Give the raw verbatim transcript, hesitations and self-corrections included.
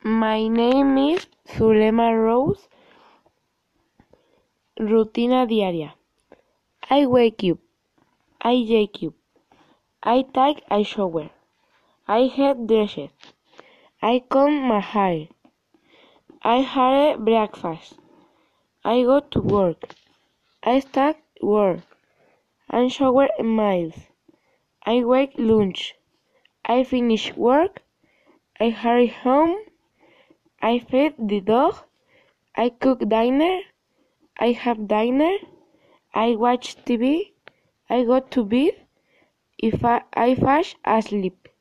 My name is Zulema Rose. Rutina diaria. I wake up. I wake up. I take a shower. I get dressed. I comb my hair. I have breakfast. I go to work. I start work. I shower emails. I wake lunch. I finish work. I hurry home. I feed the dog. I cook dinner. I have dinner. I watch T V. I go to bed. If I, I fall asleep.